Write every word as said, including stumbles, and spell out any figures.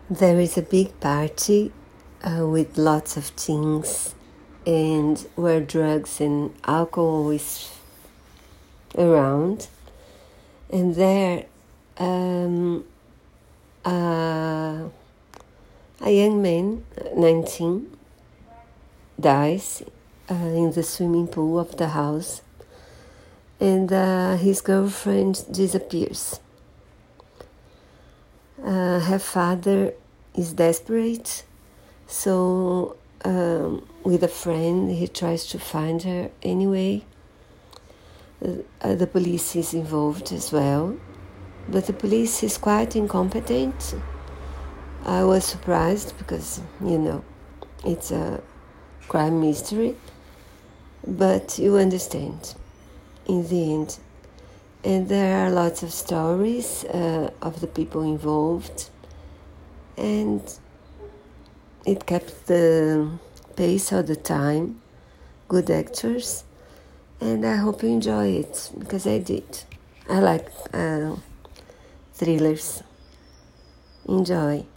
There is a big party uh, with lots of things and where drugs and alcohol is around. And there um, uh, a young man, nineteen, dies uh, in the swimming pool of the house, and uh, his girlfriend disappears. Uh, her father is desperate, so um, with a friend he tries to find her anyway. Uh, the police is involved as well, but the police is quite incompetent. I was surprised because, you know, it's a crime mystery, but you understand in the end. And there are lots of stories uh, of the people involved, and it kept the pace all the time. Good actors, and I hope you enjoy it, because I did. I like uh, thrillers. Enjoy.